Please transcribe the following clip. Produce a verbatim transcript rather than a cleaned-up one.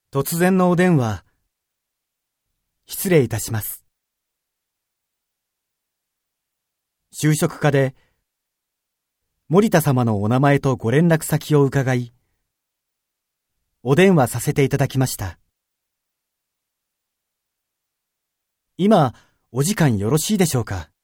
突然のお電話、失礼いたします。就職課で、森田様のお名前とご連絡先を伺い、お電話させていただきました。今、お時間よろしいでしょうか？